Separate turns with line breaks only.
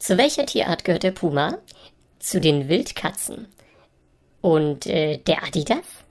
Zu welcher Tierart gehört der Puma? Zu den Wildkatzen. Und der Adidas?